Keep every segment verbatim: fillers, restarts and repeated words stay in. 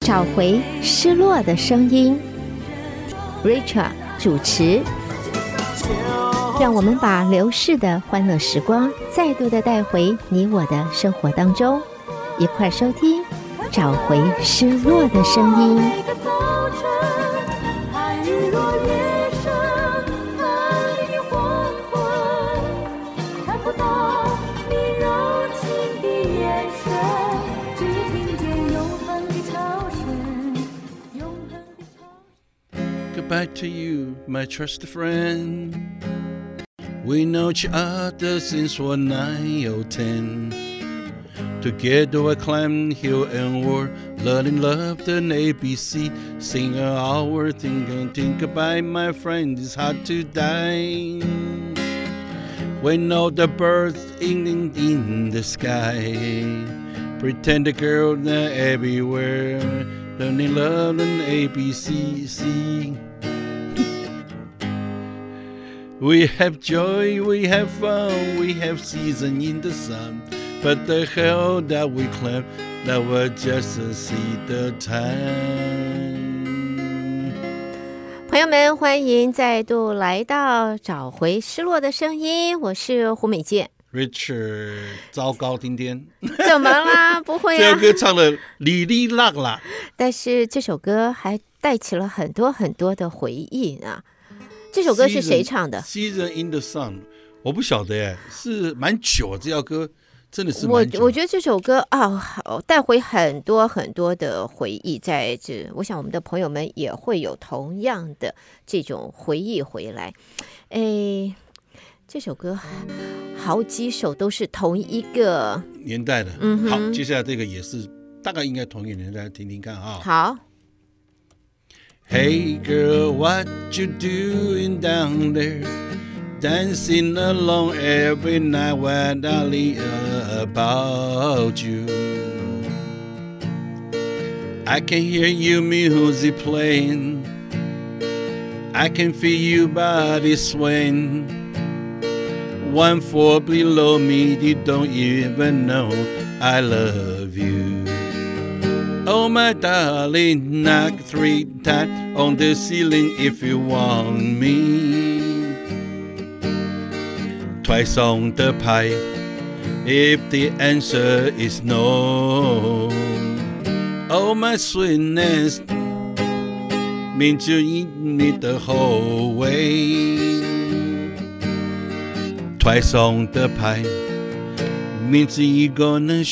找回失落的聲音 Rachel 主持，讓我們把流逝的歡樂時光再度的帶回你我的生活當中，一塊收聽找回失落的聲音。 Goodbye to you, my trusted friend. We know each other since we're nine or ten. Together we climb hill and wall, learning love the A B C. Sing our think and think goodbye, my friend. It's hard to die. We know the birds in, in, in the sky. Pretend the girl they're everywhere. Learning love and A B C. C. We have joy, we have fun, we have season in the sun. But the hell that we climb, that was just to see the time. 朋友們，歡迎再度來到找回失落的聲音，我是胡美健。 Richard， 糟糕，今天怎麼啦？不會啊， 這首歌唱的哩哩啦啦，但是這首歌還帶起了很多很多的回憶啊。這首歌是誰唱的 ？Season in the Sun， 我不曉得耶，是蠻久，這首歌真的是蠻久。 我我覺得這首歌啊，帶回很多很多的回憶，在這，我想我們的朋友們也會有同樣的這種回憶回來。哎，這首歌好幾首都是同一個年代的。嗯，好，接下來這個也是大概應該同一個年代，聽聽看啊。 好。 Hey girl, what you doing down there? Dancing alone every night when I think about you. I can hear your music playing. I can feel your body swaying. One floor below me, you don't even know I love you.Oh my darling, knock three times on the ceiling if you want me. Twice on the pipe if the answer is no. Oh my sweetness, means you eat me the whole way. Twice on the pipe means you gonna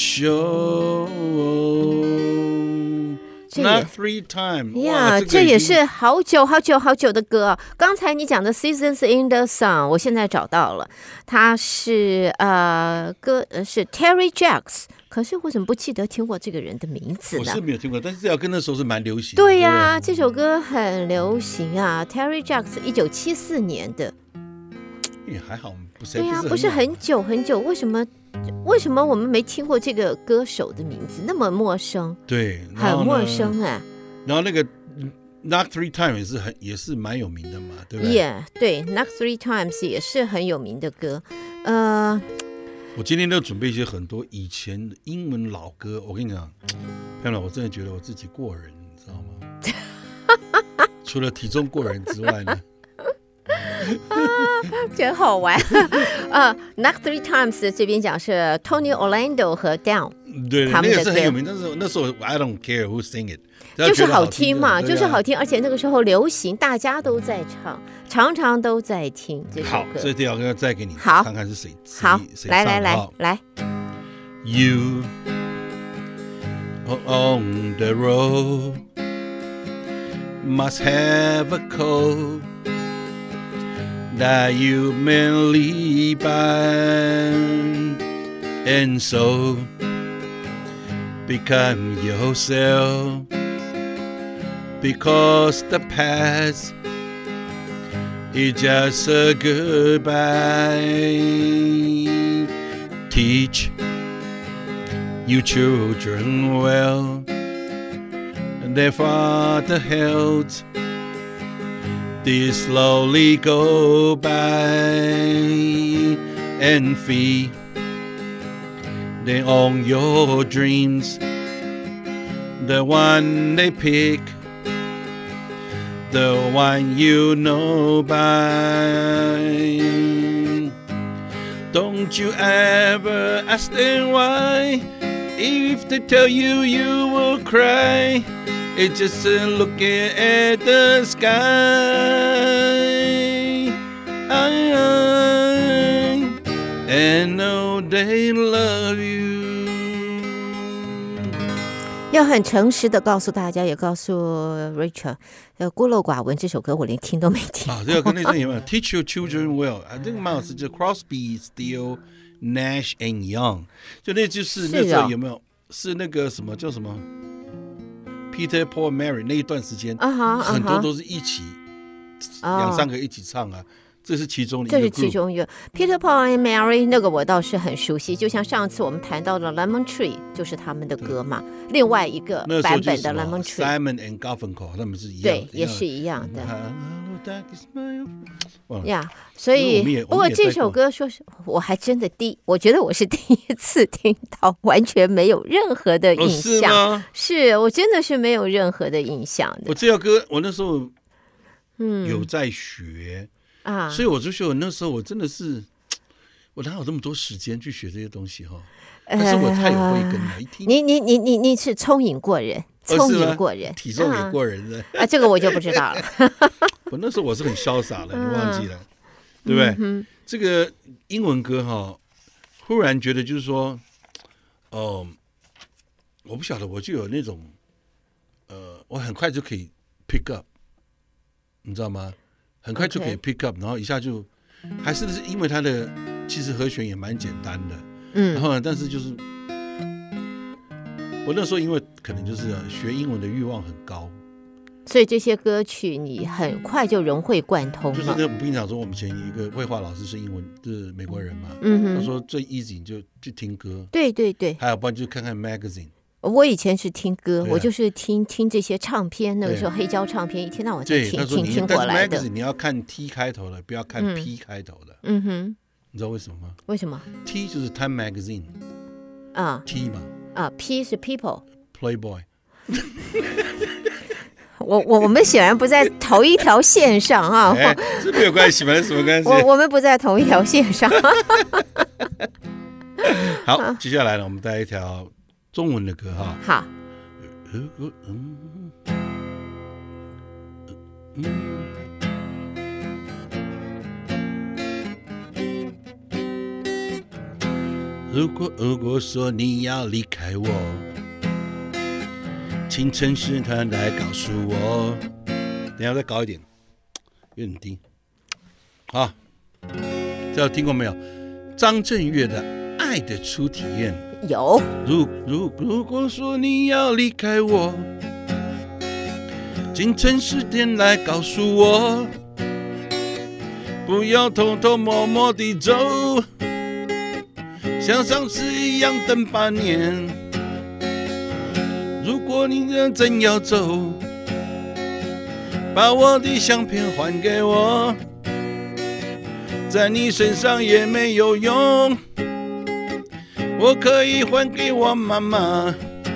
show.Not three times. 呀，這也是好久好久好久的歌。剛才你講的 Seasons in the Sun， 我現在找到了，它是呃歌是 Terry Jacks， 可是我怎麼不記得聽過這個人的名字呢？ 我是沒有聽過，但是這首歌那時候是蠻流行的。 對呀、啊，這首歌很流行啊 ，Terry Jacks 一九七四年的。 也還好，不是對呀、啊，不是很久很久，為什麼？為什麼我們沒聽過這個歌手的名字，那麼陌生？ 對， 很陌生哎、啊。 然後那個 Knock Three Times 也是很也是蠻有名的嘛，對不對？ Yeah， 對 ，Knock Three Times 也是很有名的歌。呃， 我今天都準備一些很多以前的英文老歌，我跟你講，漂亮，我真的覺得我自己過人，你知道嗎？除了體重過人之外呢？ 啊，真好玩啊 ！Knock Three Times 這邊講是 Tony Orlando 和 Down， 對，那個是很有名，但是那時候 I don't care who sing it， 就是好聽嘛，就是好聽，而且那個時候流行，大家都在唱，常常都在聽這首歌。 好，這條歌再給你好看看是誰。 好，來來來來。 You on the road must have a code.That you mainly bind, and so become yourself, because the past is just a goodbye. Teach you children well, and their father held.They slowly go by and feed them on your dreams the one they pick, the one you know by. Don't you ever ask them why. If they tell you, you will cry. It's just uh, looking at the sky. I, I, and know they love you. 要很誠實的告訴大家，也告訴 Rachel， 孤陋寡聞這首歌我連聽都沒聽。 啊，這個跟那陣有沒有 ？Teach your children well， 啊，這個蠻好吃，就 Crosby、Steele、Nash and Young， 就那就是那時候有沒有？是那個什麼叫什麼 ？Peter Paul Mary 那一段時間， uh-huh, uh-huh. 很多都是一起兩、uh-huh. 三個一起唱啊。這是其中的一個 group， 這是其中一個 Peter Paul and Mary 那個我倒是很熟悉，就像上次我們談到的 Lemon Tree 就是他們的歌嘛，另外一個版本的 Lemon Tree Simon and Garfunkel 他們是一樣的， 對，也是一樣的。呀、yeah, 所以不過這首歌說是我還真的第我覺得我是第一次聽到，完全沒有任何的印象。哦、是, 是我真的是沒有任何的印象的。 我這首歌我那時候嗯有在學。嗯啊，所以我就說，那時候我真的是，我哪有這麼多時間去學這些東西哈？但是我太有慧根了，一聽你你你你你是聰穎過人，聰穎過人， 體重也過人的啊，這個我就不知道了。 我那時候我是很瀟灑的，你忘記了，對不對？嗯、這個英文歌哈，忽然覺得就是說，哦、呃，我不曉得，我就有那種，呃，我很快就可以 pick up， 你知道嗎？很快就可以 pick up， 然後一下就，還是因為它的其實和弦也蠻簡單的，嗯，然後呢，但是就是我那時候因為可能就是學英文的慾望很高， 所以這些歌曲你很快就融會貫通了。 就是那我們平常說，我們以前一個繪畫老師是英文，就是美國人嘛，嗯哼，他說最 easy 你就去聽歌，對對對，還有不然就看看 magazine。我以前是聽歌，啊、我就是聽聽這些唱片，那個時候黑膠唱片，一天到晚在聽聽聽過來的。 但是你要看 T 開頭的，不要看 P 開頭的。嗯哼，你知道為什麼嗎？ 為什麼 ？T 就是 Time Magazine 啊 ，T 嘛啊 ，P 是 People。Playboy 我我我們顯然不在同一條線上啊。 哎，這沒有關係，反正什麼關係？ 我我們不在同一條線上。 好，接下來呢，我們帶一條。中文的歌哈， 好。 如果嗯嗯，如果如果說你要離開我，請誠實坦白告訴我。等一下再高一點，有點低。好，這聽過沒有？張震岳的《愛的初體驗》。 有。 如如如果說你要離開我，請誠實點來告訴我，不要偷偷摸摸地走，像上次一樣等八年。如果你真要走，把我的相片還給我，在你身上也沒有用，我可以還給我媽媽。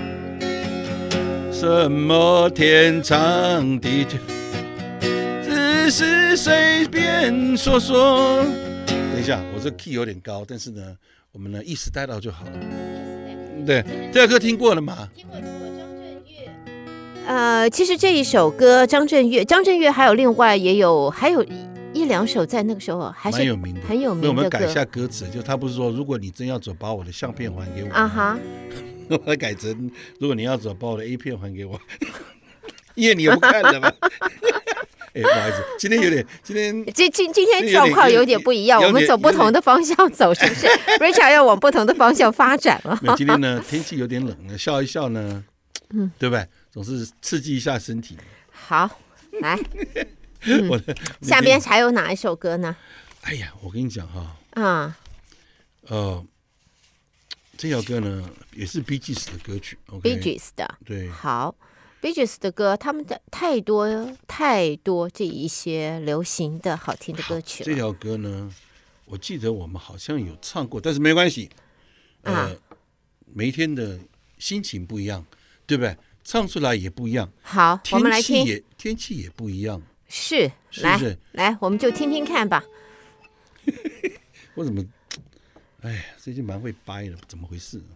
什麼天長地久，只是隨便說說。等一下，我這 key 有點高，但是呢，我們呢意思帶到就好了。對，這首歌聽過了嗎？聽過，聽過。張震岳。 呃，其實這一首歌，張震岳，張震岳還有另外也有還有。一兩首在那個時候還是很有名的，很有名的歌。 我們改一下歌詞，就他不是說如果你真要走，把我的相片還給我啊哈，我來改成如果你要走，把我的 A 片還給我，因為你又不看了嘛。哎，不好意思，今天有點，今天今今今天狀況有點不一樣，我們走不同的方向走，是不是 ？Richard 要往不同的方向發展了。 今天呢，天氣有點冷了，笑一笑呢，嗯，對不對？總是刺激一下身體。 好，來。嗯、我的下邊還有哪一首歌呢？ 哎呀，我跟你講哈，啊，呃，這首歌呢也是 Bee Gees 的歌曲 ，Bee Gees 的， 對， 好 ，Bee Gees 的歌，他們的太多太多這一些流行的好聽的歌曲了。 這條歌呢，我記得我們好像有唱過，但是沒關係，呃，啊、每一天的心情不一樣，對不對？ 唱出來也不一樣。 好，我们来听， 也天气也不一樣， 是， 是不是？ 来，来，我們就聽聽看吧。 我怎麼，哎呀，最近蠻會掰的，怎麼回事？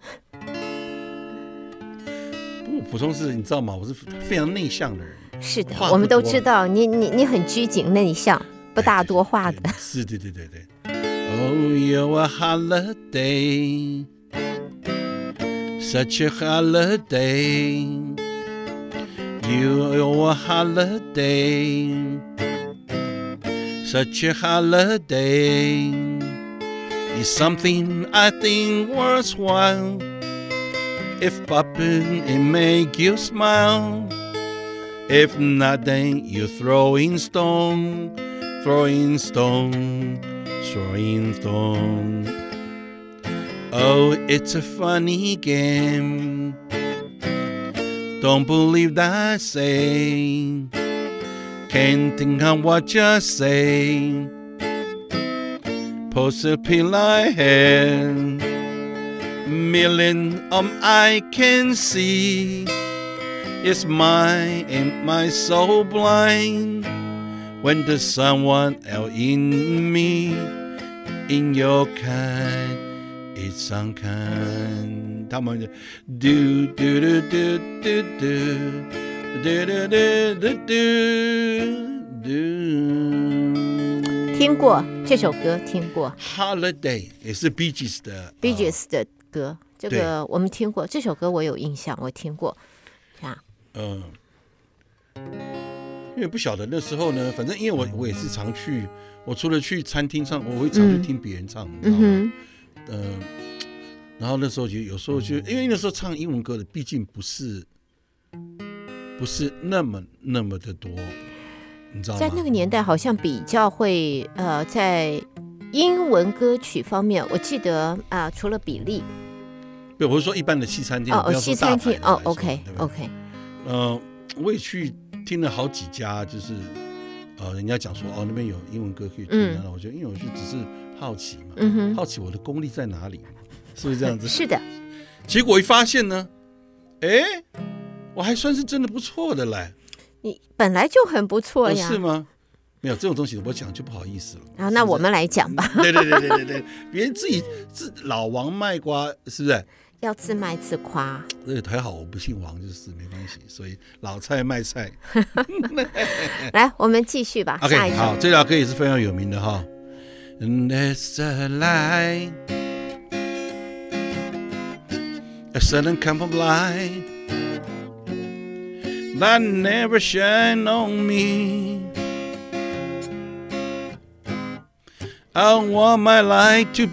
不過補充是，你知道嗎？我是非常內向的人。 是的，我們都知道你你你很拘謹內向，不大多話的。 是，對對對對。Oh, you're a holiday, such a holiday. You're a holiday, such a holiday. It's something I think worthwhile. If popping, it make you smile. If not, then you're throwing stone, throwing stone, throwing stone. Oh, it's a funny game. Don't believe that I say. Can't think of what you say. Post a pill I had. Million of I can see. It's mine and my soul blind. When there's someone else in me, in your kind, it's unkind. 他們就 do do do do do do do do do do do。 聽過這首歌，聽過。 Holiday 也是 Bee Gees 的 Bee Gees 的歌，這個我們聽過。這首歌我有印象，我聽過。啊， 嗯。因為不曉得那時候呢，反正因為我我也是常去，我除了去餐廳唱，我會常去聽別人唱，嗯、你知道嗎？嗯、呃，然後那時候就有時候就因為那時候唱英文歌的，畢竟不是不是那麼那麼的多，你知道嗎？在那個年代好像比較會呃，在英文歌曲方面，我記得啊、呃，除了比利， 對，我是說一般的西餐廳， 哦，西餐廳，哦 ，OK OK， 呃，我也去。聽了好幾家，就是呃，人家講說哦，那邊有英文歌可以聽，然後、嗯、我覺得，因為我就只是好奇嘛，嗯、好奇我的功力在哪裡，是不是這樣子？是的。結果一發現呢，哎，我還算是真的不錯的嘞。 你本來就很不錯呀， 哦、是嗎？沒有這種東西，我講就不好意思了。 啊，那我們來講吧。 對對對對對對，別人自己自老王賣瓜，是不是？ 要自賣自誇， 這個還好，我不姓王，就是沒關係，所以老菜賣菜。 來，我們繼續吧。 OK， 下一首好，這條歌也是非常有名的哈。And there's a light, a sudden kind of light that never shine on me. I want my light to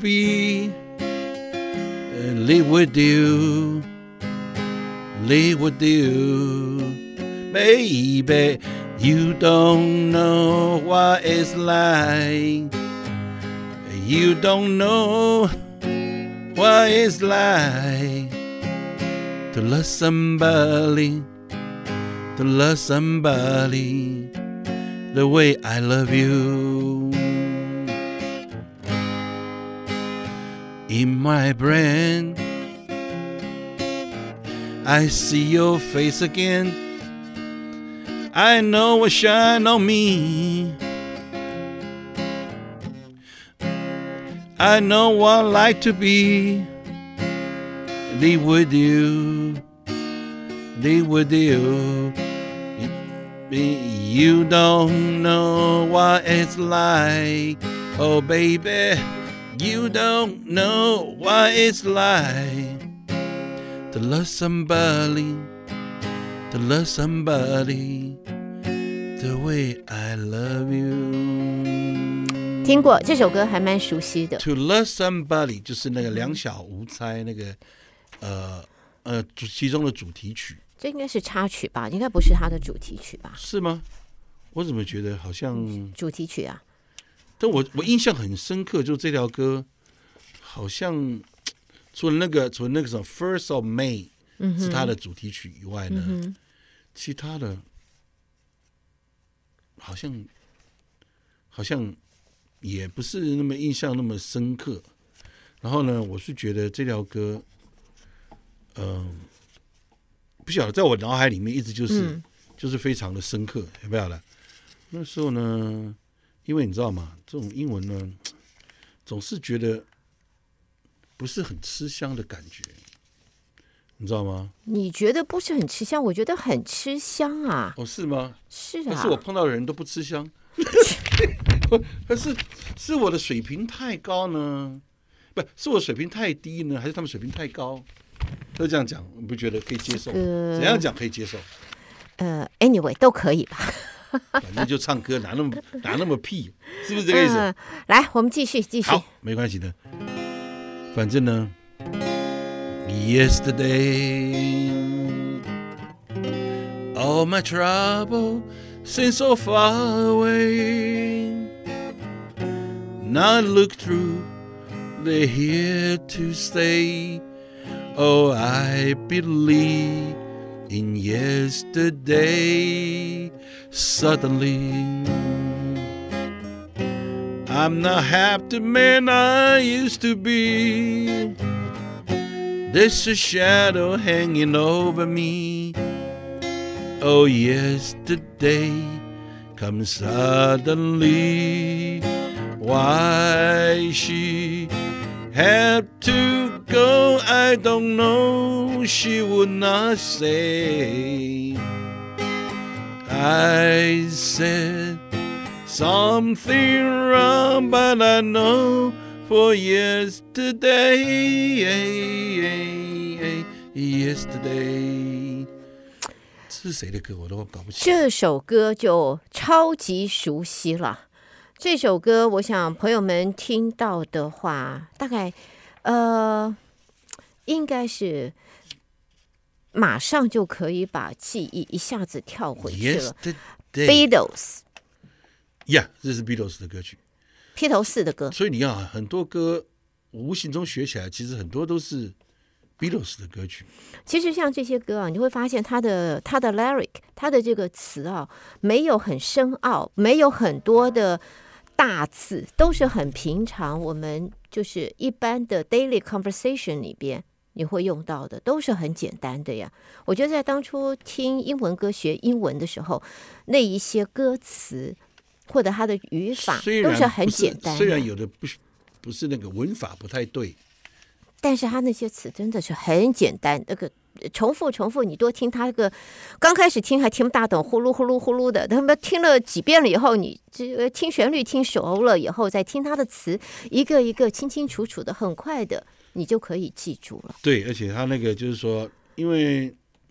be.Live with you, live with you, baby. You don't know what it's like. You don't know what it's like to love somebody, to love somebody the way I love you.In my brain, I see your face again. I know what shine on me. I know what I like to be. Live with you, live with you. You don't know what it's like, oh baby.You don't know what it's like to love somebody, to love somebody the way I love you. 聽過這首歌還蠻熟悉的。 To love somebody 就是那個兩小無猜那個呃呃其中的主題曲。 這應該是插曲吧？應該不是它的主題曲吧？ 是嗎？我怎麼覺得好像主題曲啊？ 但我我印象很深刻，就這條歌，好像除了那個除了那個什麼 First of May、嗯、是它的主題曲以外呢，嗯、其他的好像好像也不是那麼印象那麼深刻。然後呢，我是覺得這條歌，嗯、呃， 不曉得，在我腦海裡面一直就是、 嗯、 就是非常的深刻，有沒有了？那時候呢，因為你知道嗎？這種英文呢，總是覺得不是很吃香的感覺，你知道嗎？ 你覺得不是很吃香，我覺得很吃香啊。 哦，是嗎？ 是啊。 但是我碰到的人都不吃香，但是是我的水平太高呢？不是我水平太低呢，還是他們水平太高？都這樣講，你不覺得可以接受？這個、怎樣講可以接受？ 呃 ，anyway 都可以吧。 反正就唱歌，哪那麼哪那麼屁，是不是這個意思？嗯、 來，我們繼續繼續。 好，沒關係的。反正呢 ，Yesterday, all my trouble seems so far away. Now I look through, they're here to stay. Oh, I believe in yesterday. Suddenly, I'm not half the man I used to be. There's a shadow hanging over me. Oh, yesterday comes suddenly. Why she had to go, I don't know. She would not say. I said something wrong, but I know for yesterday, yesterday. 這是誰的歌？我都搞不清。 這首歌就超級熟悉了。這首歌，我想朋友們聽到的話，大概呃，應該是。馬上就可以把記憶一下子跳回去了。Beatles， 呀， yeah, 這是 Beatles 的歌曲， 披頭士的歌。 所以你要很多歌，無形中學起來，其實很多都是 Beatles 的歌曲。 其實像這些歌啊，你會發現它的它的 lyric， 它的這個詞啊，沒有很深奧，沒有很多的大字，都是很平常，我們就是一般的 daily conversation 裡邊。你會用到的都是很簡單的呀。我覺得在當初聽英文歌學英文的時候，那一些歌詞或者它的語法都是很簡單的。 雖然有的不是不是那個文法不太對， 但是它那些詞真的是很簡單。那個重複重複，你多聽它，這個剛開始聽還聽不大懂，呼嚕呼嚕呼嚕的。他們聽了幾遍了以後，你這聽旋律聽熟了以後，再聽它的詞，一個一個清清楚楚的，很快的。你就可以記住了。 對，而且他那個就是說，因為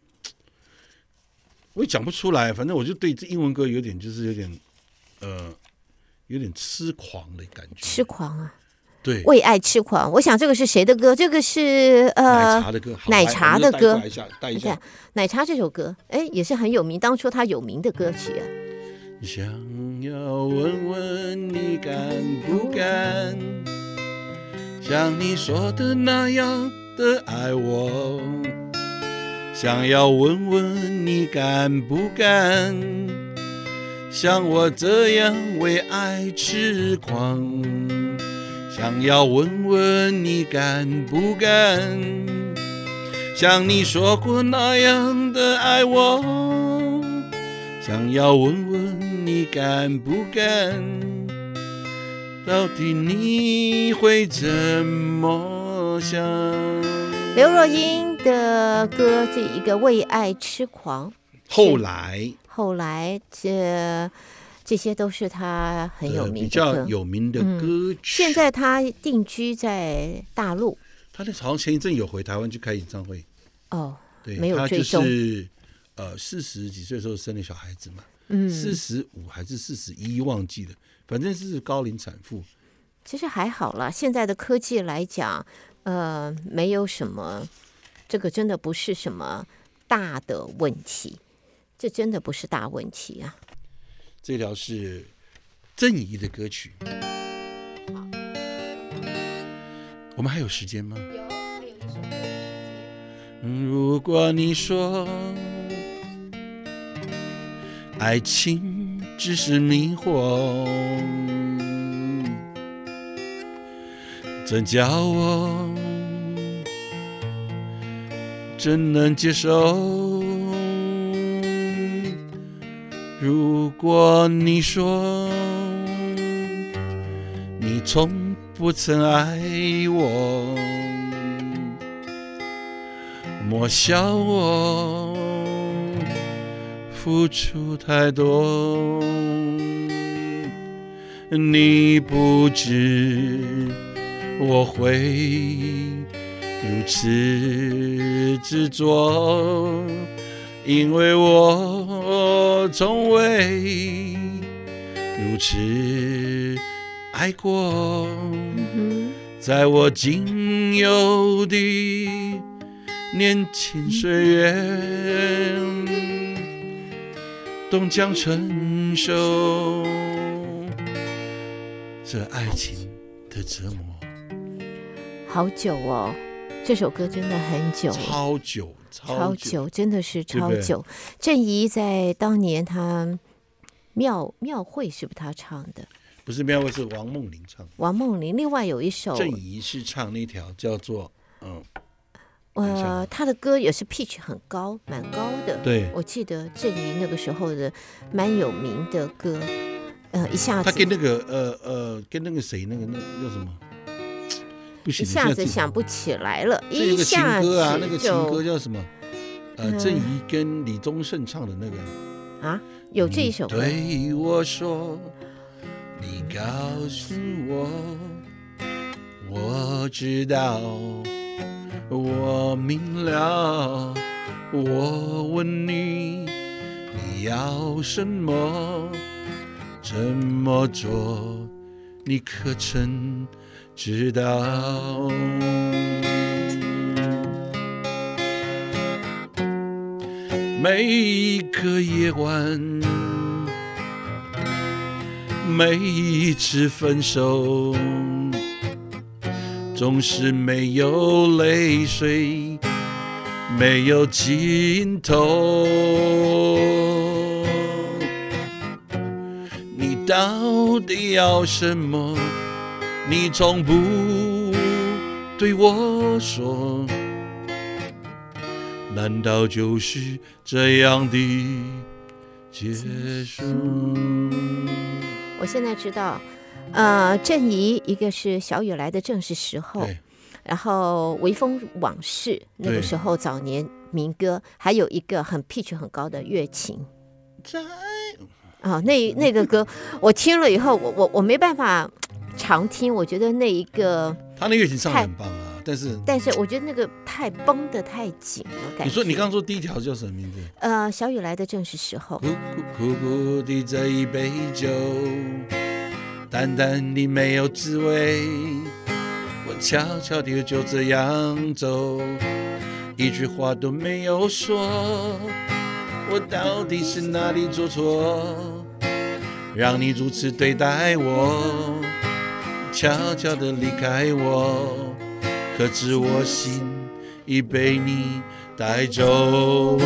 我也講不出來，反正我就對這英文歌有點，就是有點，呃，有點痴狂的感覺。 痴狂啊！ 對， 為愛痴狂。我想這個是誰的歌？這個是呃， 奶茶的歌。 奶茶的歌。 帶一下，帶一下。 奶茶這首歌，哎，也是很有名，當初他有名的歌曲啊。 想要問問你敢不敢？像你說的那樣的愛我，想要問問你敢不敢像我這樣為愛痴狂，想要問問你敢不敢像你說過那樣的愛我，想要問問你敢不敢到底你會怎麼想？ 劉若英的歌，這一個為愛痴狂。 後來， 後來這這些都是他很有名的歌，比較有名的歌曲。嗯、 現在他定居在大陸， 他那好像前一陣有回台灣去開演唱會。 哦， 對， 沒有追蹤。 他就是呃四十幾歲的時候生了小孩子嘛，嗯，四十五還是四十一忘記了。反正是高齡產婦， 其實還好啦。現在的科技來講，呃，沒有什麼，這個真的不是什麼大的問題，這真的不是大問題啊。 這條是鄭怡的歌曲。 好， 我們還有時間嗎？ 有，還有一首歌。 如果你說愛情只是迷惑，真叫我真能接受。 如果你說你從不曾愛我，莫笑我付出太多。你不知我會如此執着，因為我從未如此愛過。在我僅有的年輕歲月，終將承受這愛情的折磨。 好久哦，這首歌真的很久， 超久，超久， 超久，真的是超久。鄭怡在當年他廟廟會是不是他唱的？ 不是廟會，是王夢麟唱的。 王夢麟，另外有一首鄭怡是唱那條叫做嗯， 呃，他的歌也是 pitch 很高，蠻高的。 對， 我記得鄭怡那個時候的蠻有名的歌。呃，一下子他跟那個呃呃跟那個誰那個那個叫什麼？不行， 一下子想不起來了。 一下子，啊，那個情歌叫什麼？呃，鄭怡跟李宗盛唱的那個啊，有這一首歌。 對我說，你告訴我，我知道，我明了。我問你，你要什麼？怎麼做？你可曾知道？每一個夜晚，每一次分手，總是沒有淚水，沒有盡頭。你到底要什麼？你從不對我說，難道就是這樣的結束？ 我現在知道，呃，鄭怡一個是小雨來的正是時候，然後微風往事那個時候早年民歌，還有一個很 pitch 很高的月琴。在啊、哦，那那個歌我聽了以後，我我我沒辦法常聽，我覺得那一個他那樂琴唱得很棒啊，但是但是我覺得那個太繃得太緊了，感覺。 你說你剛剛說第一條叫什麼名字？ 呃，小雨來的正是時候。 苦苦苦苦的這一杯酒，淡淡的沒有滋味，我悄悄的就這樣走，一句話都沒有說，我到底是哪裡做錯，讓你如此對待我，悄悄地離開我，可知我心已被你帶走。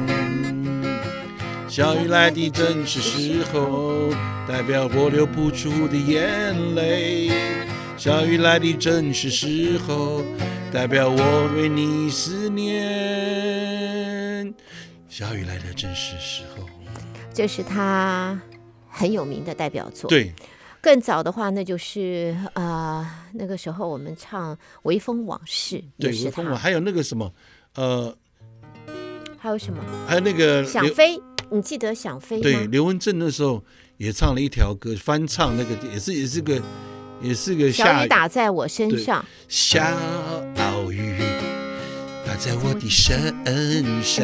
小雨來的正是時候，代表我流不出的眼淚。小雨來的正是時候，代表我為你思念。小雨來的正是時候， 這是他很有名的代表作。 對， 更早的話，那就是呃那個時候我們唱《微風往事》， 對，微風往，還有那個什麼，呃， 還有什麼？ 還有那個想飛，你記得想飛嗎？ 對，劉文正那時候也唱了一條歌，翻唱那個也是也是個也是個下小雨打在我身上， 小雨打在我的身上，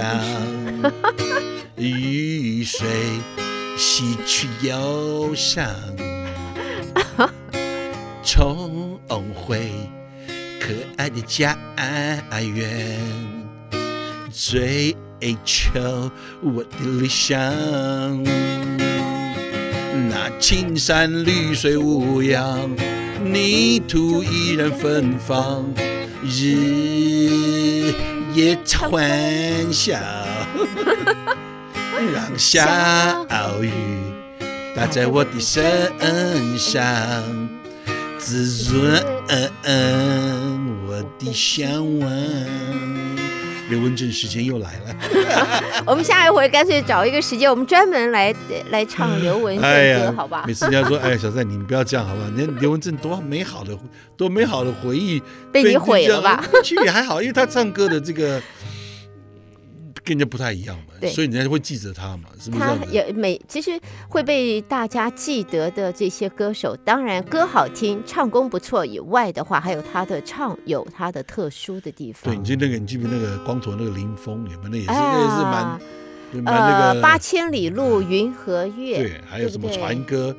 雨水洗去憂傷，重回可愛的家園，追求我的理想。那青山綠水無恙，泥土依然芬芳，日夜歡笑，讓小雨打在我的身上，滋潤我的向往。 劉文正時間又來了。 我們下一回乾脆找一個時間，我們專門來來唱劉文正歌，哎、好吧？ 每次人家說：“哎，小賽，你不要這樣，好吧？你看劉文正多美好的、多美好的回憶， 被你毀了吧？” 其實也還好，因為他唱歌的這個。跟人家不太一樣嘛，所以人家會記着他嘛，是不是？他也每其實會被大家記得的這些歌手，當然歌好聽、唱功不錯以外的話，還有他的唱有他的特殊的地方。 對，你記得那個，你記不記得那個光頭那個林峰，有沒有？那也是，啊、那也是蠻蠻那個。 呃，八千里路雲和月， 對，還有什麼船歌？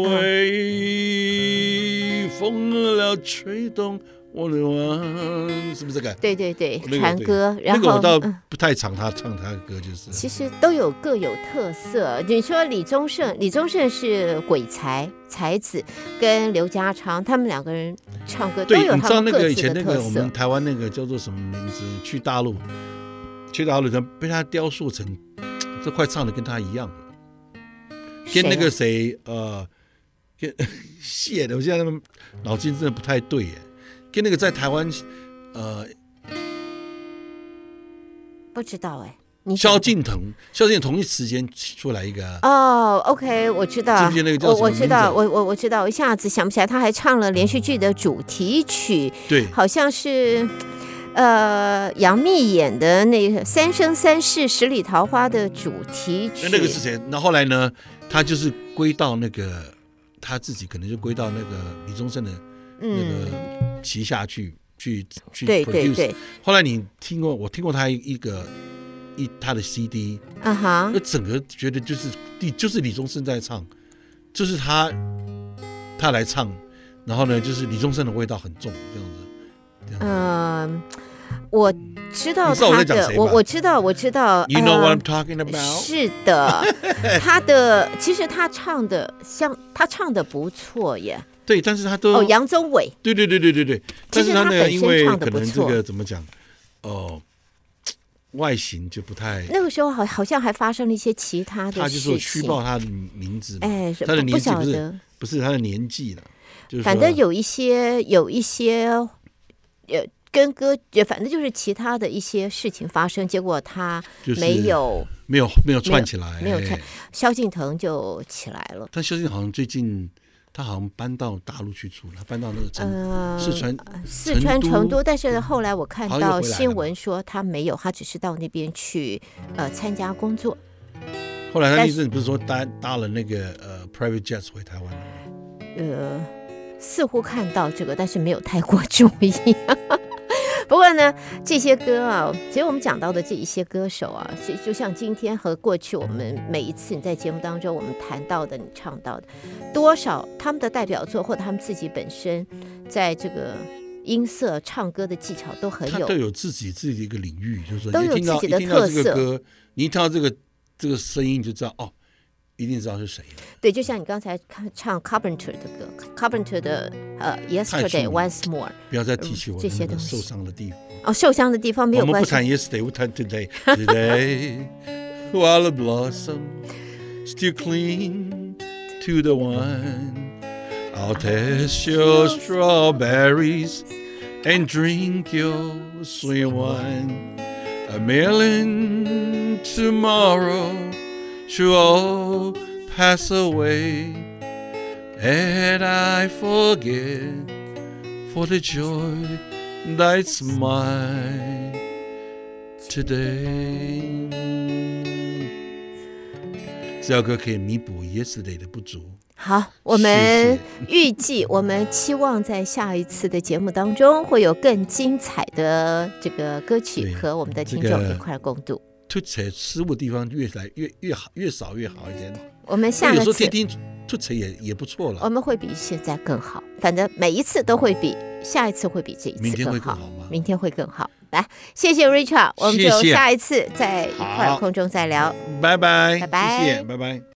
微風了吹動。我的王是不是這個？對對對，船歌。然後那個我倒不太常他唱他的歌，就是。 其實都有各有特色。你說李宗盛，李宗盛是鬼才才子，跟劉家昌他們兩個人唱歌都有他們各自的特色。你知道那個以前那個我們台灣那個叫做什麼名字？去大陸， 去大陸，他被他雕塑成，這快唱的跟他一樣了。跟那個誰呃，跟謝的，我現在他們腦筋真的不太對耶。跟那個在台灣，呃， 不知道哎、欸， 蕭敬騰，蕭敬騰同一時間出來一個哦 ，OK， 我知道， 記不記得那個叫什麼名字？我我知道， 我我我知道，我一下子想不起來，他還唱了連續劇的主題曲， 對， 好像是呃楊冪演的那個《三生三世十里桃花》的主題曲。 那個是誰？那後來呢？他就是歸到那個他自己，可能就歸到那個李宗盛的那個。嗯旗下去去去 produce，對對對。後來你聽過，我聽過他一個一他的 C D， 啊哈，那整個覺得就是就是李宗盛在唱，就是他他來唱，然後呢，就是李宗盛的味道很重，這樣子。嗯、 呃，我知道他的，我我知道我知道。 You know what I'm talking about？、 呃、是的，他的其實他唱的像他唱的不錯耶。 對，但是他都哦，楊宗緯， 對對对对对对，但是他呢，因為可能這個怎麼講，哦，外形就不太。 那個時候好好像還發生了一些其他的事情。 他就說虛報他的名字， 哎， 他的年紀不是不曉得不是他的年紀了，就是反正有一些有一些呃跟歌，反正就是其他的一些事情發生，結果他沒有、 就是、沒有沒有串起來， 沒有，沒有串，蕭敬騰就起來了。 但蕭敬騰好像最近。他好像搬到大陸去住了，搬到那個成、呃、四川四川成都，但是後來我看到新聞說他沒有，他只是到那邊去呃參加工作。 後來他那陣不是說搭搭了那個呃 private jet 回台灣了嗎？ 呃，似乎看到這個，但是沒有太過注意。不過呢，這些歌啊，其實我們講到的這一些歌手啊，就像今天和過去我們每一次你在節目當中我們談到的、你唱到的，多少他們的代表作或者他們自己本身在這個音色、唱歌的技巧都很有， 他都有自己自己的一個領域，就是說都有自己的特色。 歌，你一聽到這個這個聲音，你就知道哦。一定知道是誰。 對，就像你剛才唱 Carpenter 的歌 ，Carpenter 的呃 Yesterday Once More。不要再提起我这些受傷的地方。 哦，受傷的地方沒有關係。 我們不談 Yesterday， 我談 Today。Today, while the blossom still cling to the wine, I'll taste your strawberries and drink your sweet wine. A million tomorrow.Should all pass away, and I forget for the joy that's mine today. 這首歌可以彌補 Yesterday 的不足。 好，我們預計，我們期望在下一次的節目當中會有更精彩的這個歌曲和我們的聽眾一塊共度。 吐槽失誤的地方越來越越好，越少越好一點。 我們下一次有時候聽聽吐槽也也不錯了。 我們會比現在更好，反正每一次都會比下一次會比這一次更好。 明天會更好嗎？ 明天會更好。來，謝謝 Richard，我們就下一次在一塊空中再聊。 拜拜， 拜拜， 謝謝，拜拜。